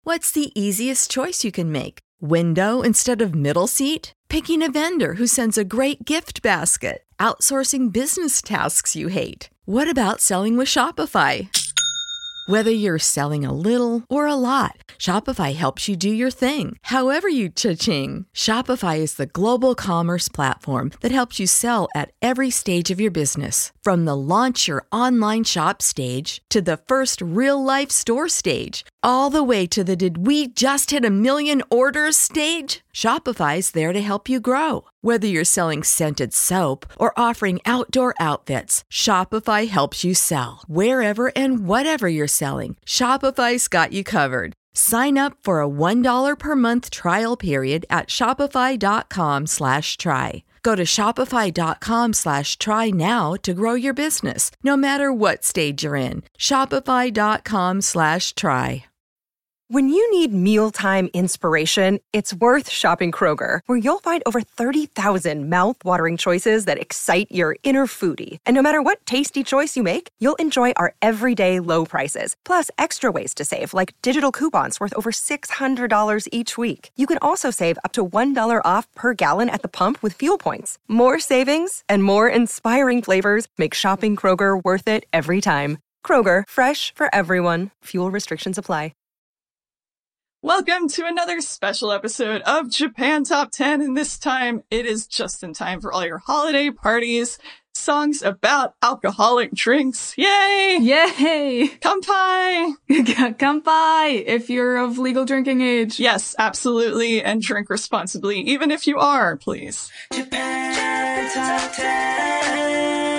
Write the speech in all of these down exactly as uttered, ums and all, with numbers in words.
What's the easiest choice you can make? Window instead of middle seat? Picking a vendor who sends a great gift basket? Outsourcing business tasks you hate? What about selling with Shopify? Whether you're selling a little or a lot, Shopify helps you do your thing, however you cha-ching. Shopify is the global commerce platform that helps you sell at every stage of your business. From the launch your online shop stage to the first real-life store stage, all the way to the did we just hit a million orders stage. Shopify's there to help you grow. Whether you're selling scented soap or offering outdoor outfits, Shopify helps you sell. Wherever and whatever you're selling, Shopify's got you covered. Sign up for a one dollar per month trial period at shopify.com slash try. Go to shopify.com slash try now to grow your business, no matter what stage you're in. Shopify.com slash try. When you need mealtime inspiration, it's worth shopping Kroger, where you'll find over thirty thousand mouth-watering choices that excite your inner foodie. And no matter what tasty choice you make, you'll enjoy our everyday low prices, plus extra ways to save, like digital coupons worth over six hundred dollars each week. You can also save up to one dollar off per gallon at the pump with fuel points. More savings and more inspiring flavors make shopping Kroger worth it every time. Kroger, fresh for everyone. Fuel restrictions apply. Welcome to another special episode of Japan Top ten, and this time it is just in time for all your holiday parties. Songs about alcoholic drinks. Yay! Yay! Kanpai! Kanpai! If you're of legal drinking age. Yes, absolutely, and drink responsibly, even if you are, please. Japan Top ten.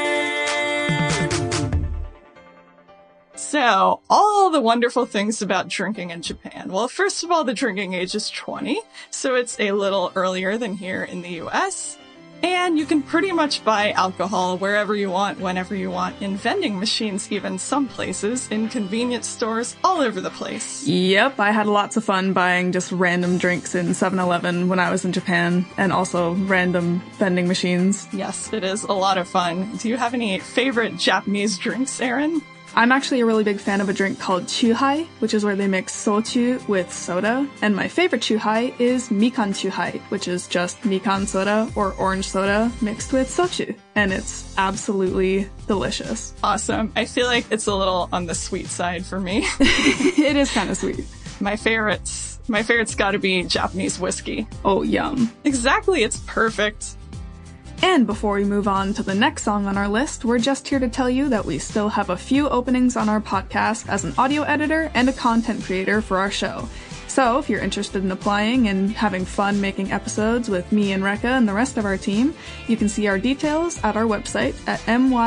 So, all the wonderful things about drinking in Japan. Well, first of all, the drinking age is twenty, so it's a little earlier than here in the U S. And you can pretty much buy alcohol wherever you want, whenever you want, in vending machines, even some places, in convenience stores, all over the place. Yep, I had lots of fun buying just random drinks in seven eleven when I was in Japan, and also random vending machines. Yes, it is a lot of fun. Do you have any favorite Japanese drinks, Erin? I'm actually a really big fan of a drink called chuhai, which is where they mix soju with soda. And my favorite chuhai is mikan chuhai, which is just mikan soda or orange soda mixed with soju. And it's absolutely delicious. Awesome. I feel like it's a little on the sweet side for me. It is kind of sweet. My favorites. My favorite's gotta be Japanese whiskey. Oh, yum. Exactly. It's perfect. And before we move on to the next song on our list, we're just here to tell you that we still have a few openings on our podcast as an audio editor and a content creator for our show. So if you're interested in applying and having fun making episodes with me and Rekka and the rest of our team, you can see our details at our website at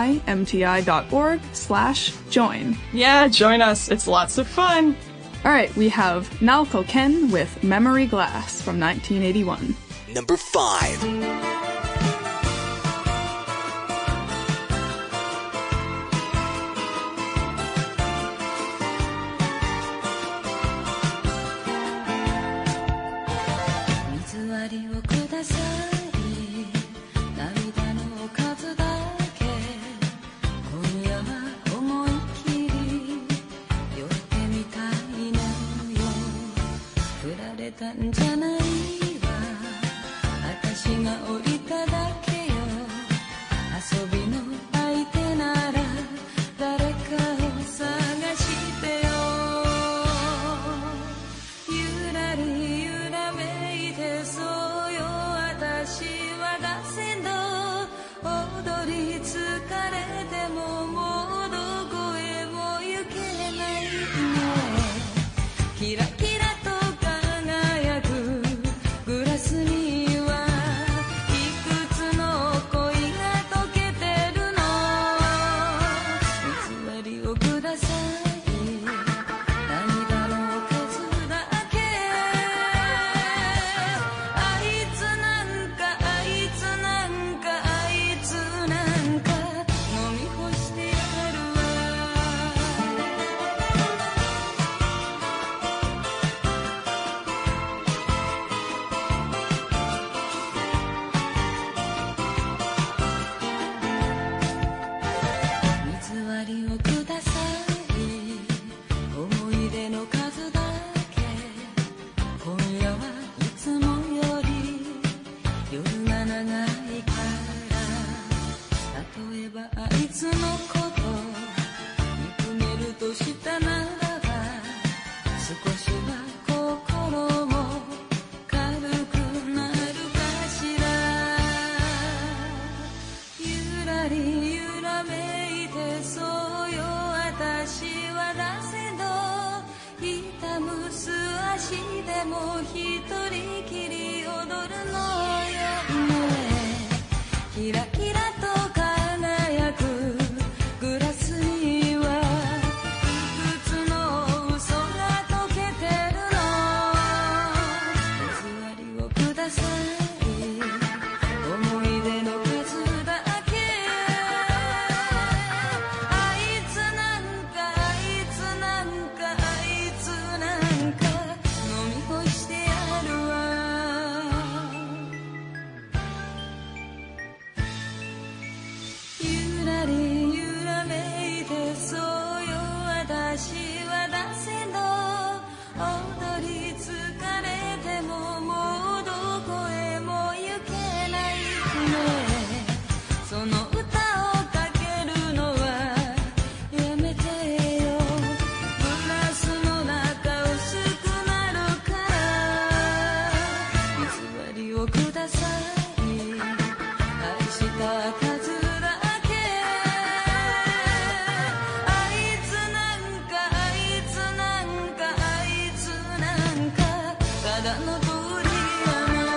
mymti.org slash join. Yeah, join us. It's lots of fun. Alright, we have Naoko Ken with Memory Glass from nineteen eighty-one. Number five. 「 私でも一人きり踊るのよねキラキラと輝くグラスにはいくつの嘘が溶けてるの偽りをください思い出の数だけあいつなんかあいつなんかあいつなんか飲み干してやるわゆらりゆらめいてそうよ私は出せの踊り疲れてももうどこへも行けないねその歌をかけるのはやめてよグラスの中薄くなるから偽りをください愛した数だけあいつなんかあいつなんかあいつなんかただの鳥やな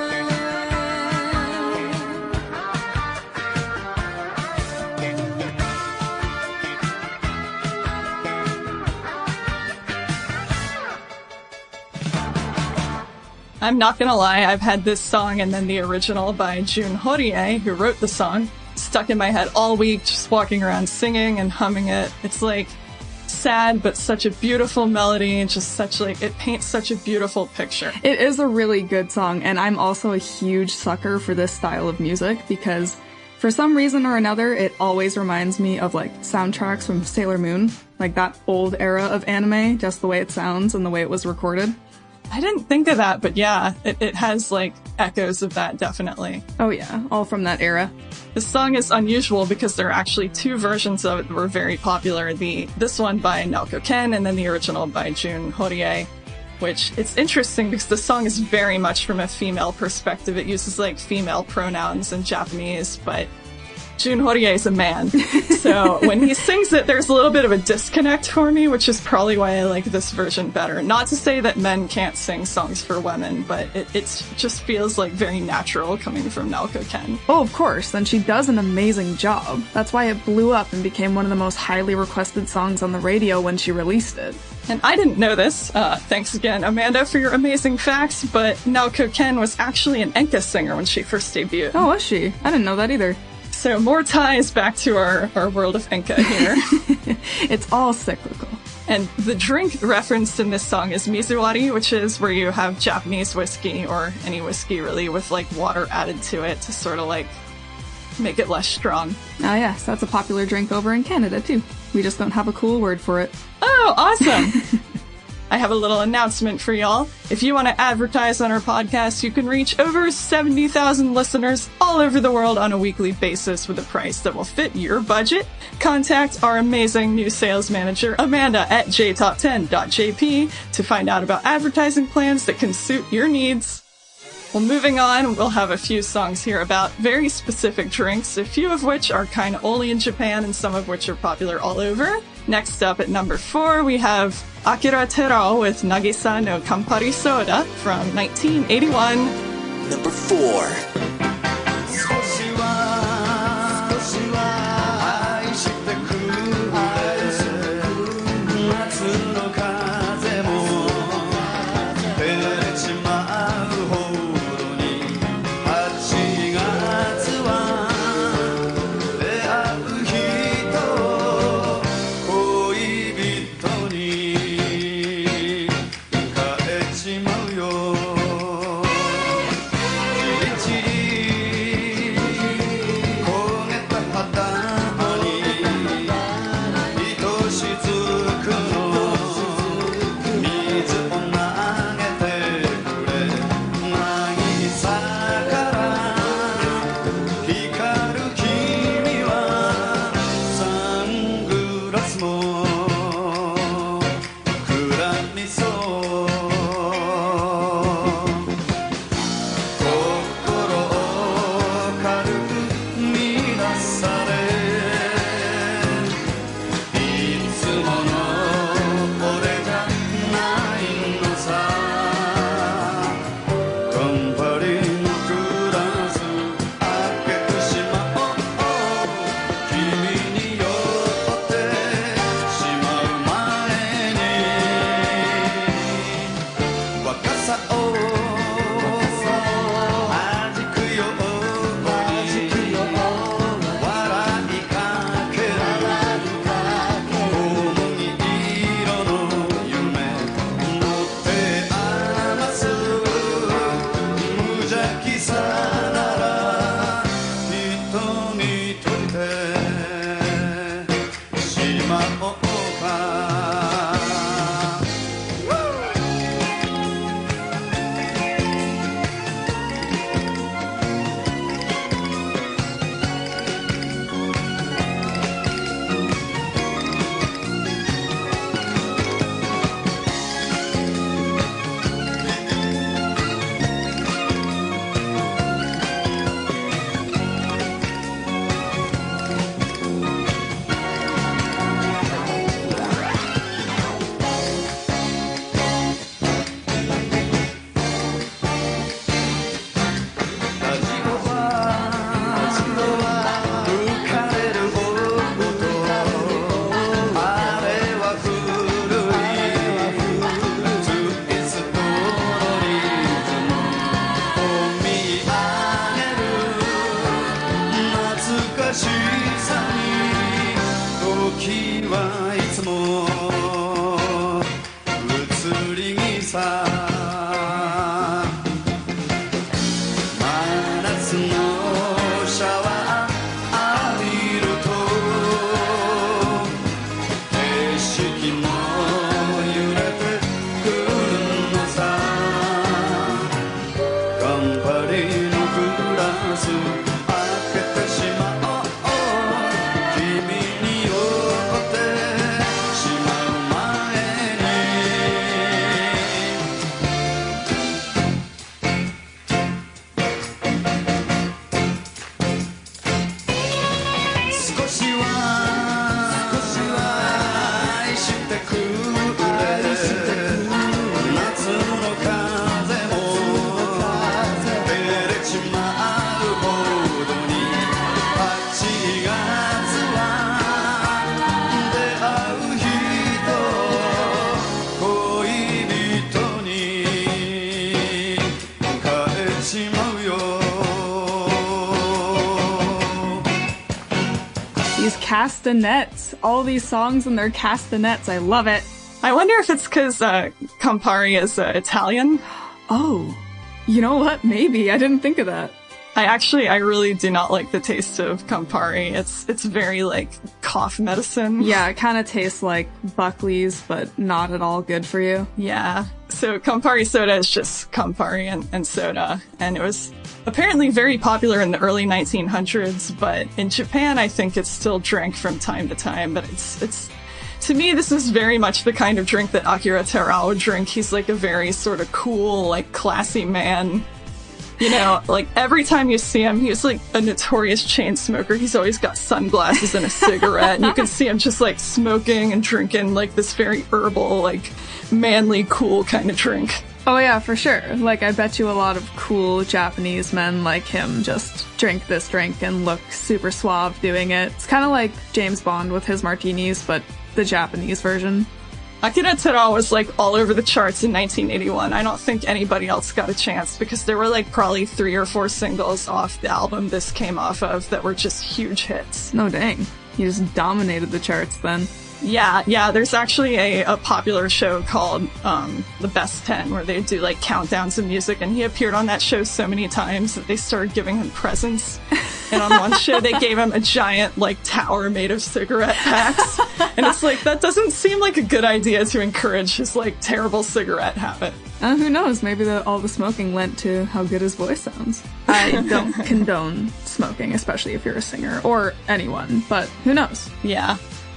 I'm not gonna lie, I've had this song and then the original by Jun Horie, who wrote the song, stuck in my head all week, just walking around singing and humming it. It's like sad, but such a beautiful melody and just such like, it paints such a beautiful picture. It is a really good song, and I'm also a huge sucker for this style of music because for some reason or another, it always reminds me of like soundtracks from Sailor Moon, like that old era of anime, just the way it sounds and the way it was recorded. I didn't think of that, but yeah, it, it has like echoes of that, definitely. Oh yeah, all from that era. This song is unusual because there are actually two versions of it that were very popular. The this one by Naoko Ken and then the original by Jun Horie, which it's interesting because the song is very much from a female perspective. It uses like female pronouns in Japanese, but Jun Horie is a man. So when he sings it, there's a little bit of a disconnect for me, which is probably why I like this version better. Not to say that men can't sing songs for women, but it it's, just feels like very natural coming from Naoko Ken. Oh, of course, and she does an amazing job. That's why it blew up and became one of the most highly requested songs on the radio when she released it. And I didn't know this. Uh, thanks again, Amanda, for your amazing facts, but Naoko Ken was actually an enka singer when she first debuted. Oh, was she? I didn't know that either. So more ties back to our, our world of enka here. It's all cyclical. And the drink referenced in this song is mizuwari, which is where you have Japanese whiskey, or any whiskey really, with like water added to it to sort of like make it less strong. Ah yes, that's a popular drink over in Canada too. We just don't have a cool word for it. Oh, awesome! I have a little announcement for y'all. If you want to advertise on our podcast, you can reach over seventy thousand listeners all over the world on a weekly basis with a price that will fit your budget. Contact our amazing new sales manager, Amanda, at j top ten dot j p to find out about advertising plans that can suit your needs. Well, moving on, we'll have a few songs here about very specific drinks, a few of which are kind of only in Japan and some of which are popular all over. Next up at number four, we have Akira Terao with Nagisa no Campari Soda from nineteen eighty-one. Number four. じりじりさ真夏のシャワー浴びると景色も揺れてくるのさカンパニーのグラス開けてしまおう君に酔ってしまう前に少しは少しは愛してくれ夏の風も照れちまうほどにはちがつは出会う人恋人に変えちまうよ These castanets. All these songs and their castanets. I love it. I wonder if it's because uh, Campari is uh, Italian. Oh, you know what? Maybe. I didn't think of that. I actually, I really do not like the taste of Campari. It's it's very like cough medicine. Yeah, it kind of tastes like Buckley's, but not at all good for you. Yeah. So Campari soda is just Campari and, and soda. And it was apparently very popular in the early nineteen hundreds, but in Japan, I think it's still drank from time to time. But it's, it's, to me, this is very much the kind of drink that Akira Terao would drink. He's like a very sort of cool, like classy man. You know, like every time you see him, he's like a notorious chain smoker. He's always got sunglasses and a cigarette. And you can see him just like smoking and drinking like this very herbal, like manly, cool kind of drink. Oh yeah, for sure. Like, I bet you a lot of cool Japanese men like him just drink this drink and look super suave doing it. It's kind of like James Bond with his martinis, but the Japanese version. Akira Terao was like all over the charts in nineteen eighty-one. I don't think anybody else got a chance because there were like probably three or four singles off the album this came off of that were just huge hits. No dang. He just dominated the charts then. Yeah, yeah, there's actually a, a popular show called um, The Best ten where they do like countdowns of music, and he appeared on that show so many times that they started giving him presents. And on one show they gave him a giant like tower made of cigarette packs. And it's like, that doesn't seem like a good idea to encourage his like terrible cigarette habit. Uh, who knows, maybe the, all the smoking lent to how good his voice sounds. I don't condone smoking, especially if you're a singer, or anyone, but who knows? Yeah.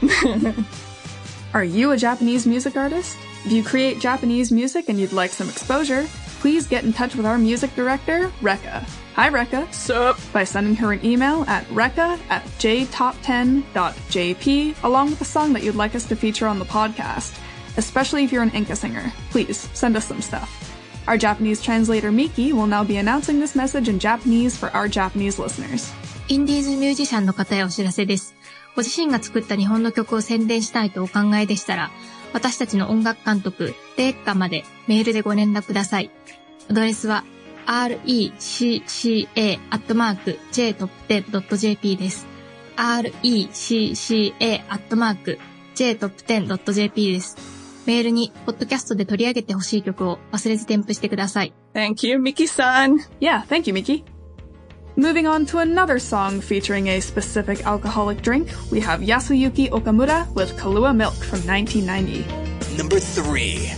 Are you a Japanese music artist? If you create Japanese music and you'd like some exposure, please get in touch with our music director, Rekka. Hi, Rekka. Sup? By sending her an email at rekka at j top ten dot j p along with a song that you'd like us to feature on the podcast. Especially if you're an Enka singer. Please, send us some stuff. Our Japanese translator, Miki, will now be announcing this message in Japanese for our Japanese listeners. インディーズミュージシャンの方へお知らせです。ご自身が作った日本の曲を宣伝したいとお考えでしたら、私たちの音楽監督、レッカまでメールでご連絡ください。アドレスは アールイーシーシーエー アットマーク ジェイトップテン ドット ジェーピー です。アールイーシーシーエー アットマーク ジェイトップテン ドット ジェーピー です。メールにポッドキャストで取り上げてほしい曲を忘れず添付してください。 Thank you, Miki-san. Yeah, thank you, Miki. Moving on to another song featuring a specific alcoholic drink, we have Yasuyuki Okamura with Kahlua Milk from nineteen ninety. Number three.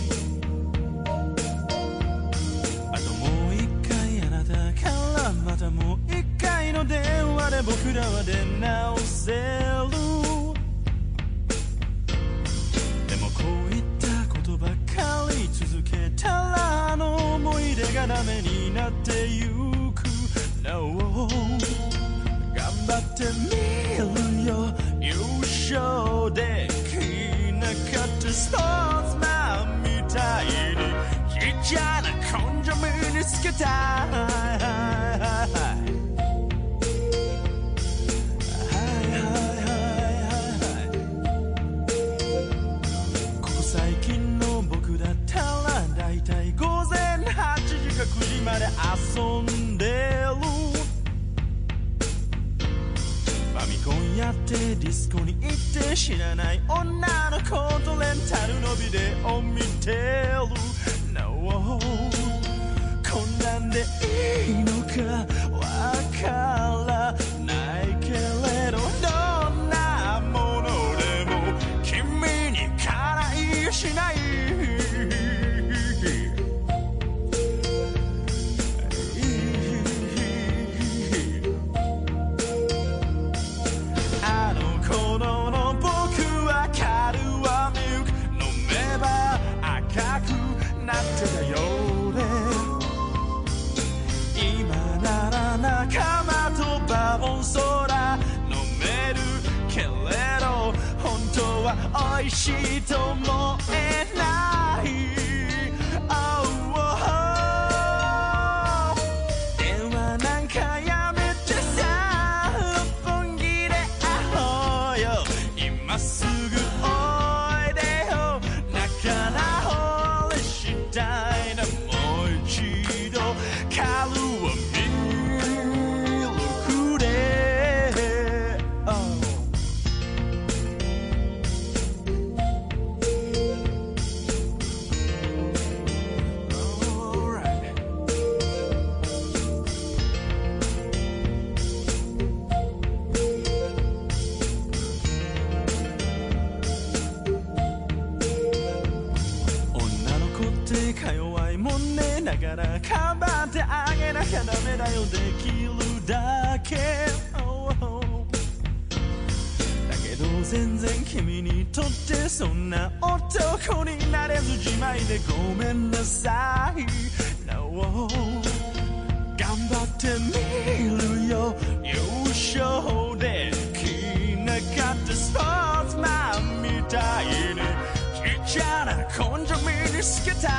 あともう一回あなたからまたもう一回の電話で僕らは出直せる。でもこういったことばかり続けたらあの思い出がダメになってゆく。No 頑張ってみるよ優勝できなかったスポーツマンみたいにちっちゃな根性身につけたここ最近の僕だったらだいたい午前はちじかくじまで遊んでるファミコンやってディスコに行って知らない女の子とレンタルのビデオ見てる No かわからないけれどどんなものでも君にからいしないあの頃の僕はカルアミルク飲めば赤くなってたようで今なら仲間とバボンソーダ飲めるけれど本当は美味しいと思えない、oh, oh, oh. 電話なんかやめてさ六本木で会おうよ今すぐおいでよ仲直りしたいなもう一度カルアミルクで、oh.か弱いもんねだからかばってあげなきゃダメだよできるだけ、oh, oh. だけど全然君にとってそんな男になれずじまいでごめんなさい、no. 頑張ってみるよ優勝できなかったスポーツマンみたいにちっちゃな根性身につけたい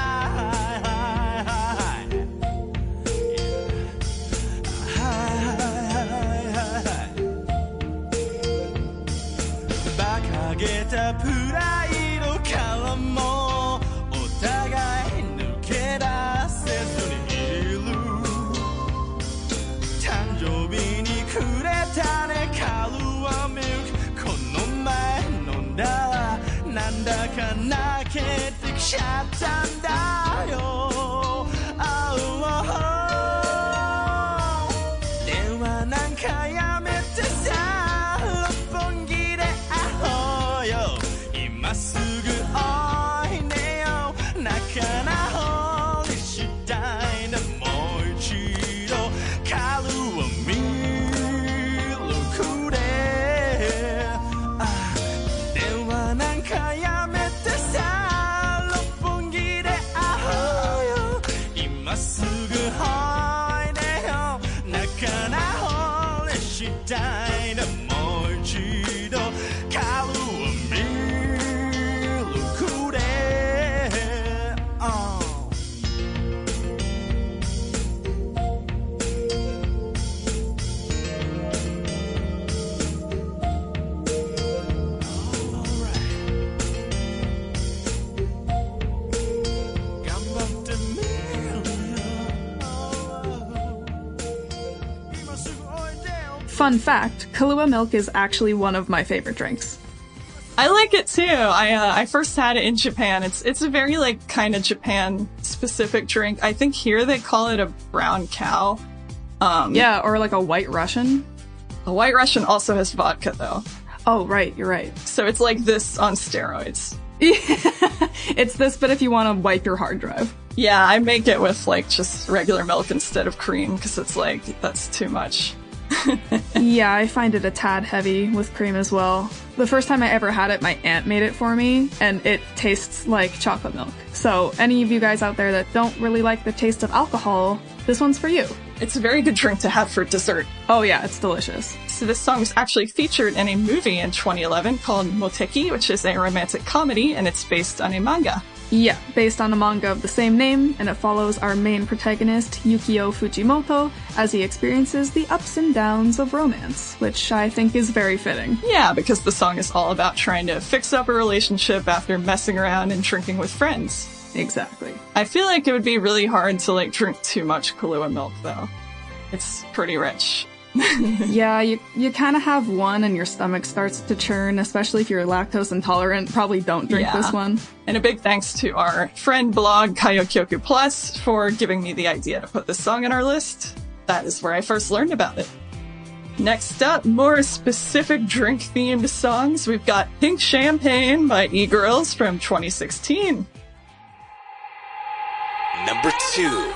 馬鹿げたプライドからもお互い抜け出せずにいる誕生日にくれたねカルアミルクこの前飲んだらなんだか泣けてきちゃったんだよ、oh, oh, oh. 電話なんかやめてさ六本木で会おうよ今すぐおいでよ仲直りしたいなもう一度カルアミルクで、ah.電話なんかやめてさ六本木で会おうよ今すぐおいでよ仲直りしたいなもう一度カルアミルクで、oh.頑張ってみるよ、今すぐおいでよ Fun fact, Kahlua milk is actually one of my favorite drinks. I like it too. I uh, I first had it in Japan. It's it's a very like kind of Japan specific drink. I think here they call it a brown cow. Um, Yeah, or like a white Russian. a White Russian also has vodka though, Oh, right, you're right. so it's like this on steroids. It's this, but if you want to wipe your hard drive. Yeah, I make it with like just regular milk instead of cream because it's like that's too much. Yeah, I find it a tad heavy with cream as well. The first time I ever had it, my aunt made it for me, and it tastes like chocolate milk. So any of you guys out there that don't really like the taste of alcohol, this one's for you. It's a very good drink to have for dessert. Oh yeah, it's delicious. So this song was actually featured in a movie in twenty eleven called Moteki, which is a romantic comedy, and it's based on a manga. Yeah, based on a manga of the same name, and it follows our main protagonist, Yukio Fujimoto, as he experiences the ups and downs of romance, which I think is very fitting. Yeah, because the song is all about trying to fix up a relationship after messing around and drinking with friends. Exactly. I feel like it would be really hard to like drink too much Kahlua milk though. It's pretty rich. Yeah, you you kind of have one and your stomach starts to churn, especially if you're lactose intolerant. Probably don't drink Yeah. this one. And a big thanks to our friend blog Kayokyoku Plus for giving me the idea to put this song on our list. that is where I first learned about it. Next up, more specific drink-themed songs. We've got Pink Champagne by E-Girls from twenty sixteen. Number two.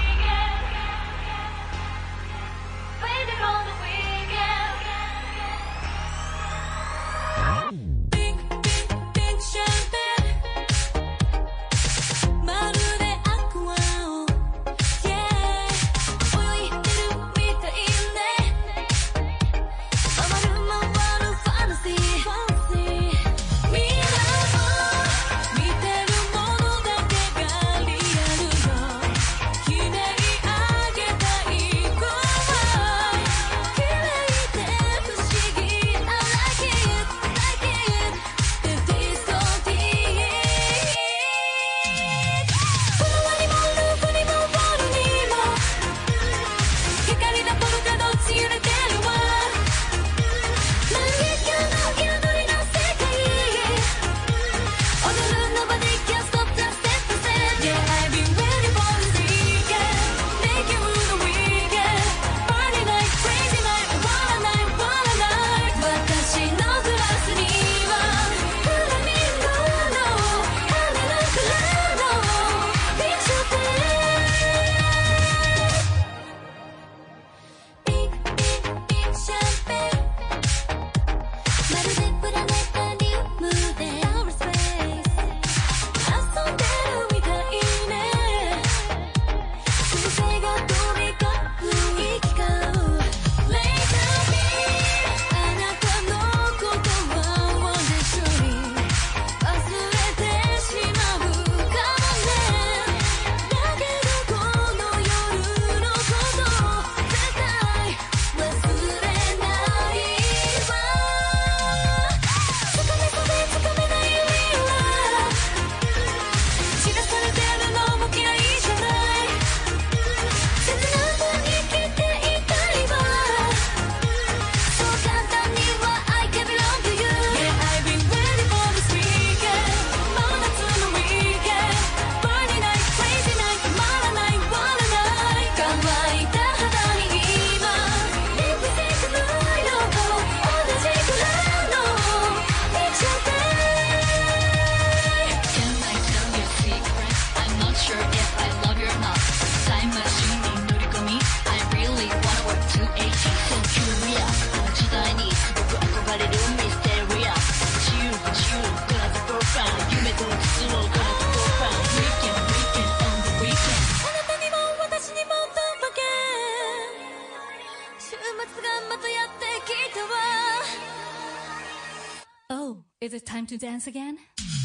Is it time to dance again?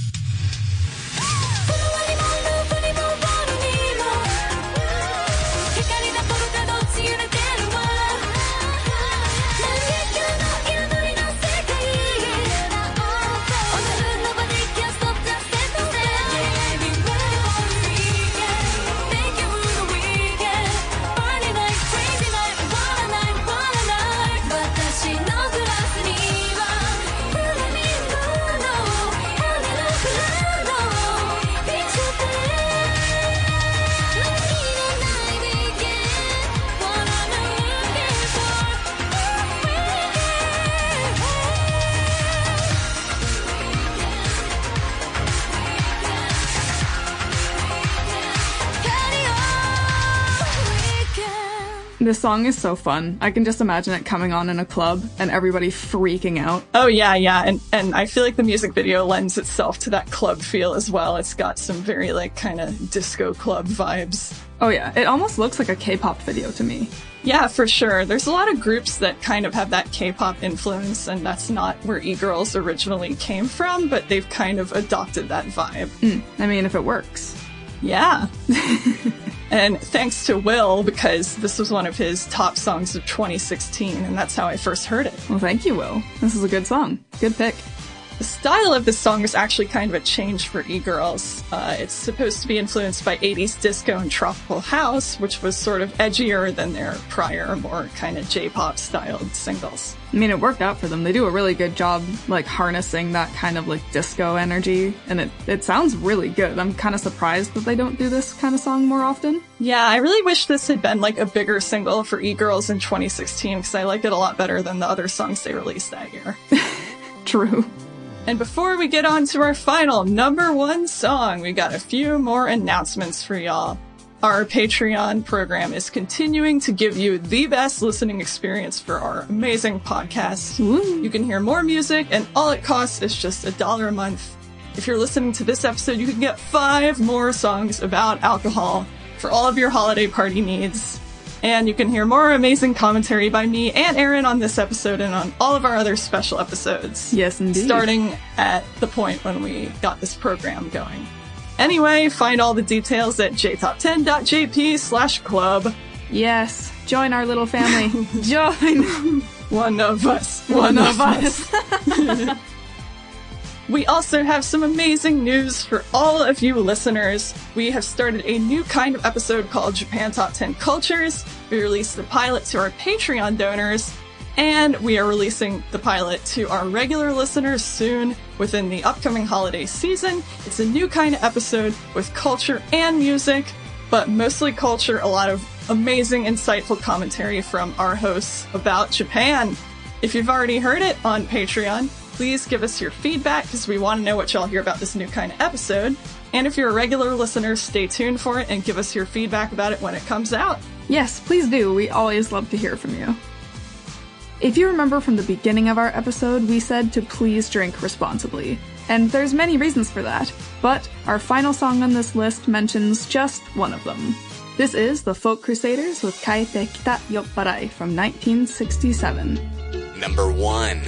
This song is so fun. I can just imagine it coming on in a club and everybody freaking out. Oh yeah, yeah, and and I feel like the music video lends itself to that club feel as well. It's got some very like kind of disco club vibes. Oh yeah, it almost looks like a K-pop video to me. Yeah, for sure. There's a lot of groups that kind of have that K-pop influence, and that's not where E-Girls originally came from, but they've kind of adopted that vibe. Mm, I mean, if it works. Yeah. And thanks to Will, because this was one of his top songs of twenty sixteen, and that's how I first heard it. Well, thank you, Will. This is a good song. Good pick. The style of this song is actually kind of a change for e-girls. Uh, it's supposed to be influenced by eighties disco and tropical house, which was sort of edgier than their prior, more kind of J-pop styled singles. I mean, it worked out for them. They do a really good job, like, harnessing that kind of, like, disco energy, and it, it sounds really good. I'm kind of surprised that they don't do this kind of song more often. Yeah, I really wish this had been, like, a bigger single for e-girls in twenty sixteen, because I like it a lot better than the other songs they released that year. True. And before we get on to our final number one song, we got a few more announcements for y'all. Our Patreon program is continuing to give you the best listening experience for our amazing podcast. Ooh. You can hear more music, and all it costs is just a dollar a month. If you're listening to this episode, you can get five more songs about alcohol for all of your holiday party needs. And you can hear more amazing commentary by me and Aaron on this episode and on all of our other special episodes. Yes, indeed. Starting at the point when we got this program going. Anyway, find all the details at j top ten dot j p slash club. Yes, join our little family. Join! One of us. One, One of, of us. us. We also have some amazing news for all of you listeners. We have started a new kind of episode called Japan Top ten Cultures. We released the pilot to our Patreon donors, and we are releasing the pilot to our regular listeners soon within the upcoming holiday season. It's a new kind of episode with culture and music, but mostly culture, a lot of amazing, insightful commentary from our hosts about Japan. If you've already heard it on Patreon, please give us your feedback because we want to know what y'all hear about this new kind of episode. And if you're a regular listener, stay tuned for it and give us your feedback about it when it comes out. Yes, please do. We always love to hear from you. If you remember from the beginning of our episode, we said to please drink responsibly. And there's many reasons for that, but our final song on this list mentions just one of them. This is the Folk Crusaders with Kaete Kita Yopparai from nineteen sixty-seven. Number one.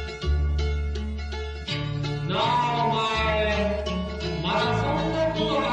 なあお前まだそんなことが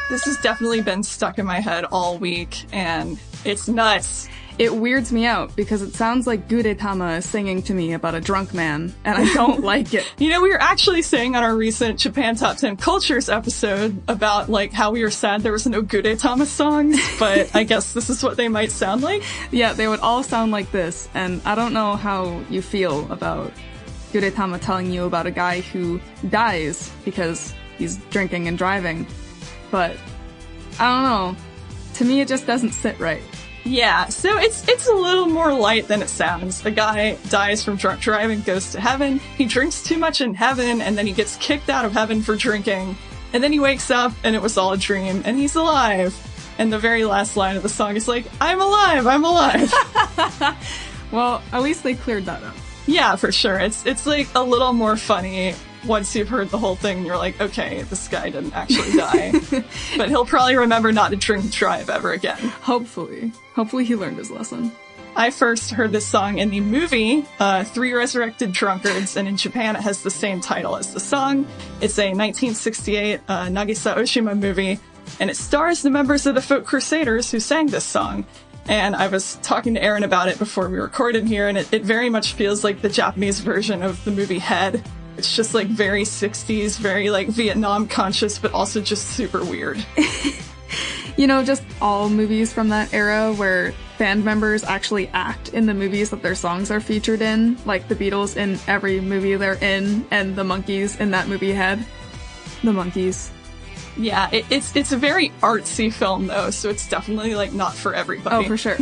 This has definitely been stuck in my head all week, and it's nuts. It weirds me out because it sounds like Gudetama is singing to me about a drunk man, and I don't like it. You know, we were actually saying on our recent Japan Top ten Cultures episode about, like, how we were sad there was no Gudetama songs, but I guess this is what they might sound like. Yeah, they would all sound like this, and I don't know how you feel about Gudetama telling you about a guy who dies because he's drinking and driving, but I don't know. To me, it just doesn't sit right. Yeah, so it's it's a little more light than it sounds. The guy dies from drunk driving, goes to heaven, he drinks too much in heaven, and then he gets kicked out of heaven for drinking. And then he wakes up, and it was all a dream, and he's alive. And the very last line of the song is like, I'm alive, I'm alive. Well, at least they cleared that up. Yeah, for sure. It's it's like a little more funny once you've heard the whole thing and you're like, okay, this guy didn't actually die. But he'll probably remember not to drink and drive ever again. Hopefully. Hopefully he learned his lesson. I first heard this song in the movie, uh, Three Resurrected Drunkards, and in Japan it has the same title as the song. It's a nineteen sixty-eight uh, Nagisa Oshima movie, and it stars the members of the Folk Crusaders who sang this song. And I was talking to Aaron about it before we recorded here, and it, it very much feels like the Japanese version of the movie Head. It's just like very sixties, very like Vietnam conscious, but also just super weird. You know, just all movies from that era where band members actually act in the movies that their songs are featured in, like the Beatles in every movie they're in, and the Monkees in that movie Head. The Monkees. Yeah, it, it's it's a very artsy film though, so it's definitely like not for everybody. Oh, for sure.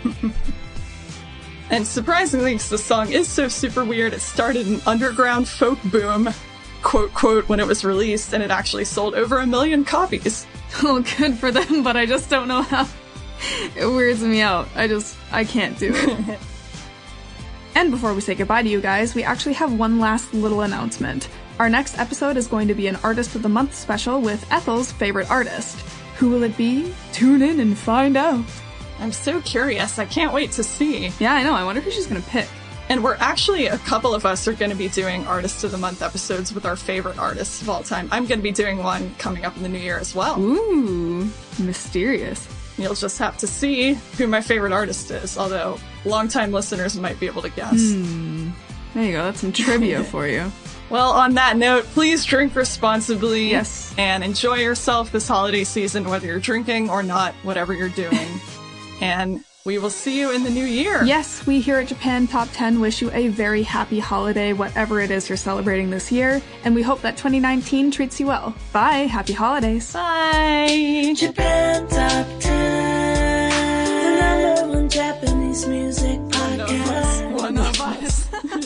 And surprisingly, because the song is so super weird, it started an underground folk boom, quote, quote, when it was released, and it actually sold over a million copies. Oh, good for them, but I just don't know how. It weirds me out. I just, I can't do it. And before we say goodbye to you guys, we actually have one last little announcement. Our next episode is going to be an Artist of the Month special with Ethel's favorite artist. Who will it be? Tune in and find out. I'm so curious. I can't wait to see. Yeah, I know. I wonder who she's going to pick. And we're actually, a couple of us are going to be doing Artist of the Month episodes with our favorite artists of all time. I'm going to be doing one coming up in the new year as well. Ooh, mysterious. You'll just have to see who my favorite artist is, although longtime listeners might be able to guess. Hmm. There you go. That's some trivia for you. Well, on that note, please drink responsibly. Yes. And enjoy yourself this holiday season, whether you're drinking or not, whatever you're doing. And we will see you in the new year. Yes, we here at Japan Top ten wish you a very happy holiday, whatever it is you're celebrating this year, and we hope that twenty nineteen treats you well. Bye! Happy holidays! Bye! Japan Top ten, the number one Japanese music podcast. One of us.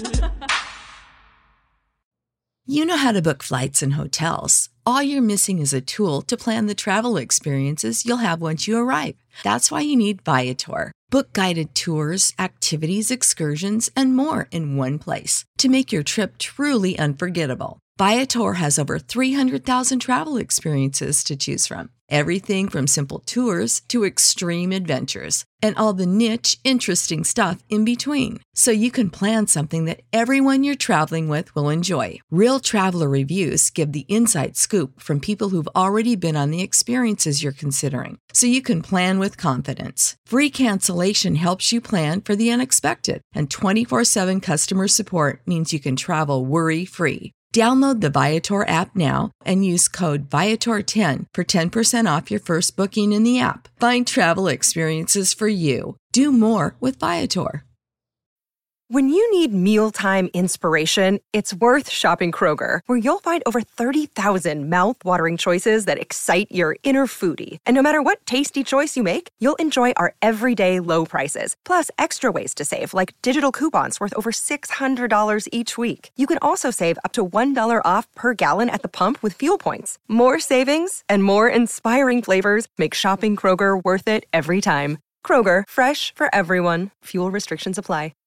You know how to book flights and hotels. All you're missing is a tool to plan the travel experiences you'll have once you arrive. That's why you need Viator. Book guided tours, activities, excursions, and more in one place to make your trip truly unforgettable. Viator has over three hundred thousand travel experiences to choose from. Everything from simple tours to extreme adventures and all the niche, interesting stuff in between. So you can plan something that everyone you're traveling with will enjoy. Real traveler reviews give the inside scoop from people who've already been on the experiences you're considering. So you can plan with confidence. Free cancellation helps you plan for the unexpected. And twenty-four seven customer support means you can travel worry-free. Download the Viator app now and use code Viator ten for ten percent off your first booking in the app. Find travel experiences for you. Do more with Viator. When you need mealtime inspiration, it's worth shopping Kroger, where you'll find over thirty thousand mouth-watering choices that excite your inner foodie. And no matter what tasty choice you make, you'll enjoy our everyday low prices, plus extra ways to save, like digital coupons worth over six hundred dollars each week. You can also save up to one dollar off per gallon at the pump with fuel points. More savings and more inspiring flavors make shopping Kroger worth it every time. Kroger, fresh for everyone. Fuel restrictions apply.